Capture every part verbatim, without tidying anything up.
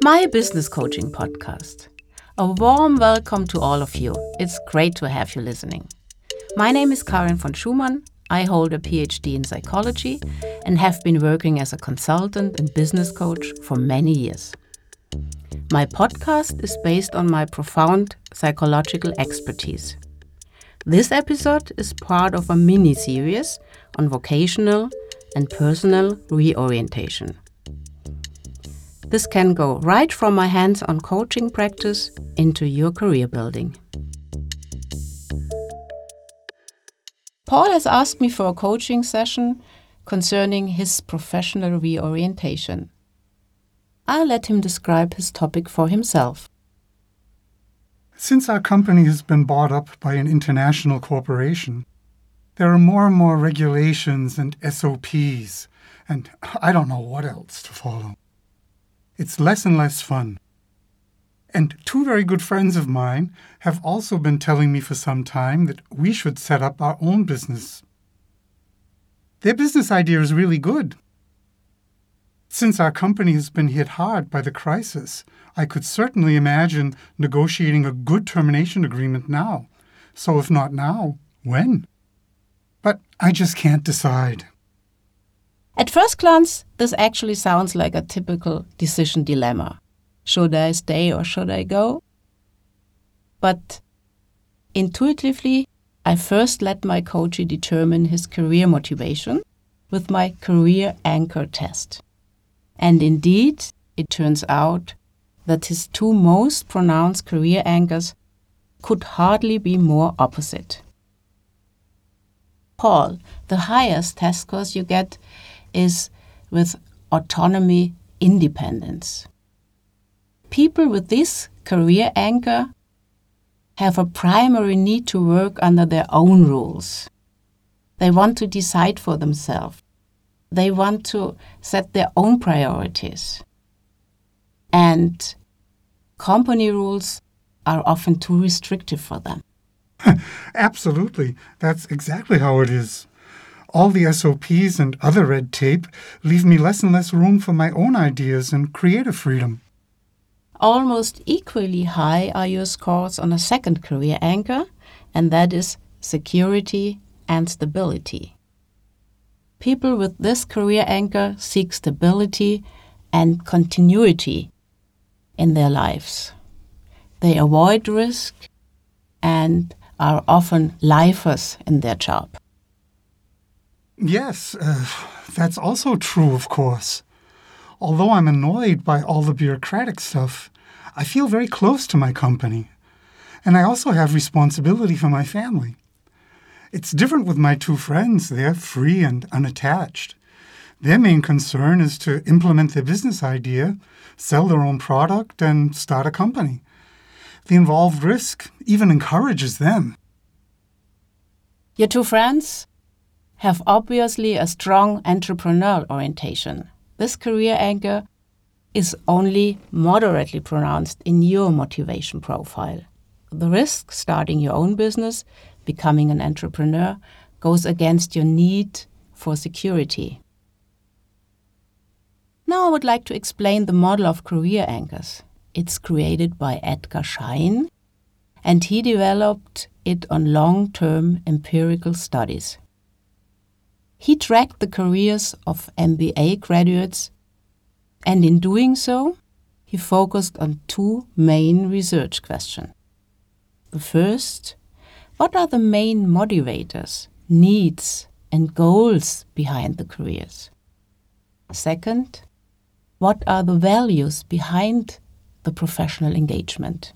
my business coaching podcast. A warm welcome to all of you. It's great to have you listening. My name is Karin von Schumann. I hold a P H D in psychology and have been working as a consultant and business coach for many years. My podcast is based on my profound psychological expertise. This episode is part of a mini-series on vocational and personal reorientation. This can go right from my hands-on coaching practice into your career building. Paul has asked me for a coaching session concerning his professional reorientation. I'll let him describe his topic for himself. Since our company has been bought up by an international corporation, there are more and more regulations and S O Ps, and I don't know what else to follow. It's less and less fun. And two very good friends of mine have also been telling me for some time that we should set up our own business. Their business idea is really good. Since our company has been hit hard by the crisis, I could certainly imagine negotiating a good termination agreement now. So if not now, when? But I just can't decide. At first glance, this actually sounds like a typical decision dilemma. Should I stay or should I go? But intuitively, I first let my coachee determine his career motivation with my career anchor test. And indeed, it turns out that his two most pronounced career anchors could hardly be more opposite. Paul, the highest test scores you get is with autonomy, independence. People with this career anchor have a primary need to work under their own rules. They want to decide for themselves. They want to set their own priorities. And company rules are often too restrictive for them. Absolutely. That's exactly how it is. All the S O Ps and other red tape leave me less and less room for my own ideas and creative freedom. Almost equally high are your scores on a second career anchor, and that is security and stability. People with this career anchor seek stability and continuity in their lives. They avoid risk and are often lifers in their job. Yes, uh, that's also true, of course. Although I'm annoyed by all the bureaucratic stuff, I feel very close to my company. And I also have responsibility for my family. It's different with my two friends. They're free and unattached. Their main concern is to implement their business idea, sell their own product, and start a company. The involved risk even encourages them. Your two friends have obviously a strong entrepreneurial orientation. This career anchor is only moderately pronounced in your motivation profile. The risk starting your own business, becoming an entrepreneur, goes against your need for security. Now I would like to explain the model of career anchors. It's created by Edgar Schein, and he developed it on long-term empirical studies. He tracked the careers of M B A graduates, and in doing so, he focused on two main research questions. The first, what are the main motivators, needs, and goals behind the careers? Second, what are the values behind the professional engagement?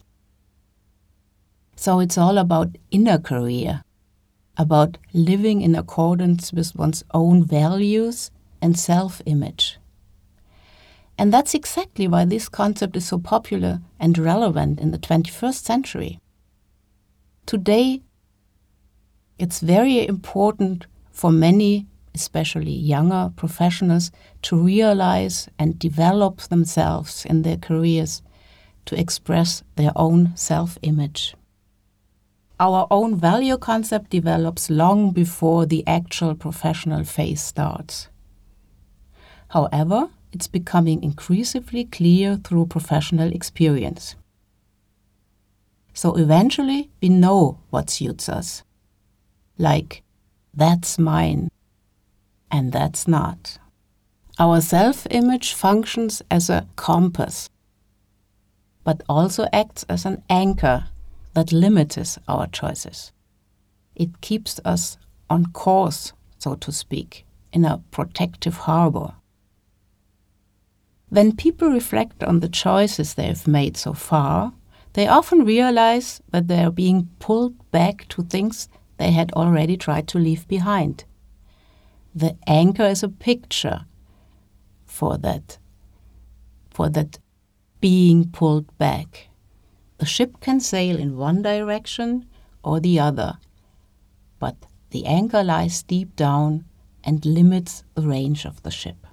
So it's all about inner career, about living in accordance with one's own values and self-image. And that's exactly why this concept is so popular and relevant in the twenty-first century. Today, it's very important for many, especially younger professionals, to realize and develop themselves in their careers to express their own self-image. Our own value concept develops long before the actual professional phase starts. However, it's becoming increasingly clear through professional experience. So eventually we know what suits us. Like, that's mine, and that's not. Our self-image functions as a compass, but also acts as an anchor that limits our choices. It keeps us on course, so to speak, in a protective harbor. When people reflect on the choices they have made so far, they often realize that they are being pulled back to things they had already tried to leave behind. The anchor is a picture for that, for that being pulled back. The ship can sail in one direction or the other, but the anchor lies deep down and limits the range of the ship.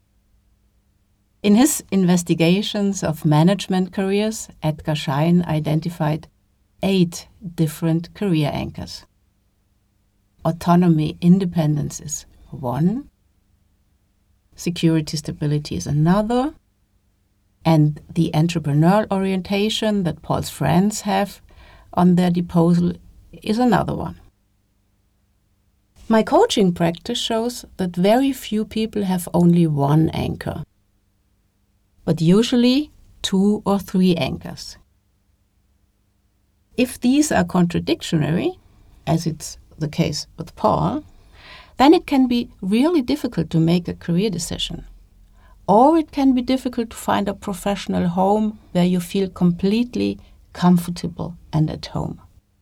In his investigations of management careers, Edgar Schein identified eight different career anchors. Autonomy, independence is one. Security, stability is another. And the entrepreneurial orientation that Paul's friends have on their disposal is another one. My coaching practice shows that very few people have only one anchor, but usually two or three anchors. If these are contradictory, as it's the case with Paul, then it can be really difficult to make a career decision. Or it can be difficult to find a professional home where you feel completely comfortable and at home.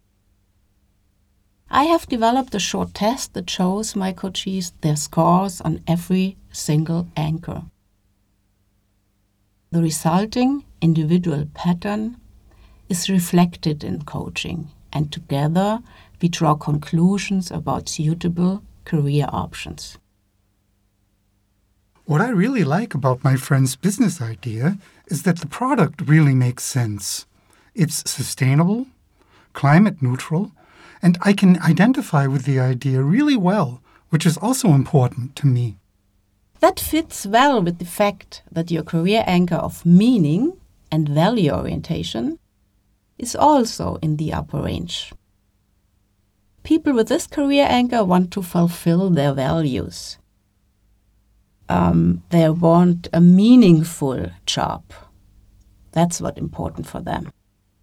I have developed a short test that shows my coachees their scores on every single anchor. The resulting individual pattern is reflected in coaching, and together we draw conclusions about suitable career options. What I really like about my friend's business idea is that the product really makes sense. It's sustainable, climate neutral, and I can identify with the idea really well, which is also important to me. That fits well with the fact that your career anchor of meaning and value orientation is also in the upper range. People with this career anchor want to fulfill their values. Um, they want a meaningful job. That's what's important for them.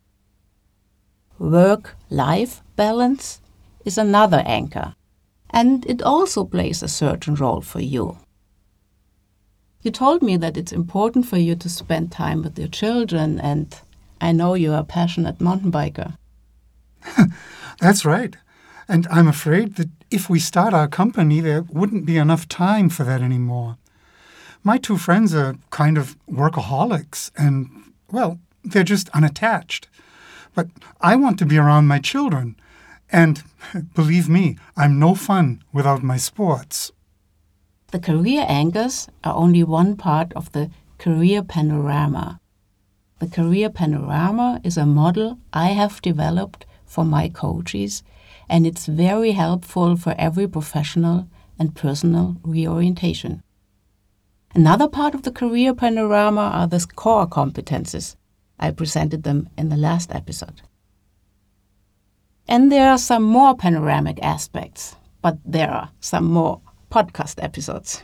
Work-life balance is another anchor, and it also plays a certain role for you. You told me that it's important for you to spend time with your children, and I know you're a passionate mountain biker. That's right. And I'm afraid that if we start our company, there wouldn't be enough time for that anymore. My two friends are kind of workaholics and, well, they're just unattached. But I want to be around my children. And believe me, I'm no fun without my sports. The career anchors are only one part of the career panorama. The career panorama is a model I have developed for my coaches, and it's very helpful for every professional and personal reorientation. Another part of the career panorama are the core competences. I presented them in the last episode. And there are some more panoramic aspects, but there are some more podcast episodes.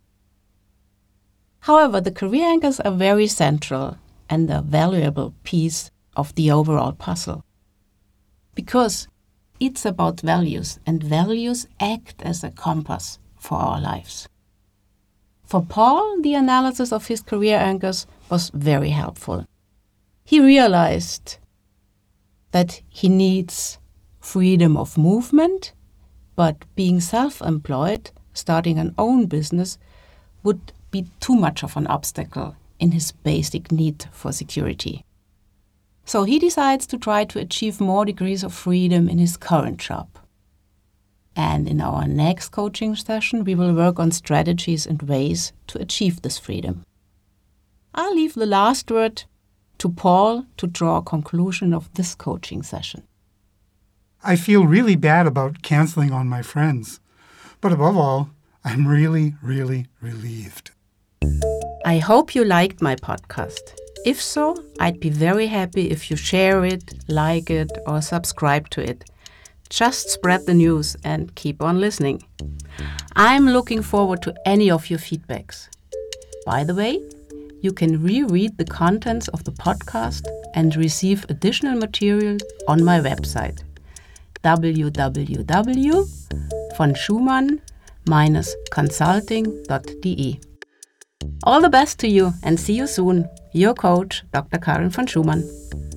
However, the career anchors are very central and a valuable piece of the overall puzzle. Because it's about values, and values act as a compass for our lives. For Paul, the analysis of his career anchors was very helpful. He realized that he needs freedom of movement, but being self-employed, starting an own business, would be too much of an obstacle in his basic need for security. So he decides to try to achieve more degrees of freedom in his current job. And in our next coaching session, we will work on strategies and ways to achieve this freedom. I'll leave the last word to Paul to draw a conclusion of this coaching session. I feel really bad about canceling on my friends. But above all, I'm really, really relieved. I hope you liked my podcast. If so, I'd be very happy if you share it, like it, or subscribe to it. Just spread the news and keep on listening. I'm looking forward to any of your feedbacks. By the way, you can reread the contents of the podcast and receive additional material on my website w w w dot von schumann dash consulting dot d e. All the best to you and see you soon. Your coach, Doctor Karin von Schumann.